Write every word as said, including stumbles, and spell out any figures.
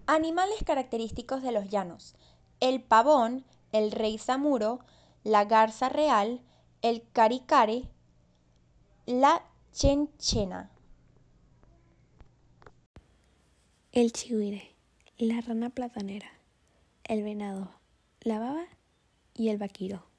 Animales característicos de los llanos: el pavón, el rey samuro, la garza real, el caricare, la chenchena. El chigüire, la rana platanera, el venado, la baba y el vaquiro.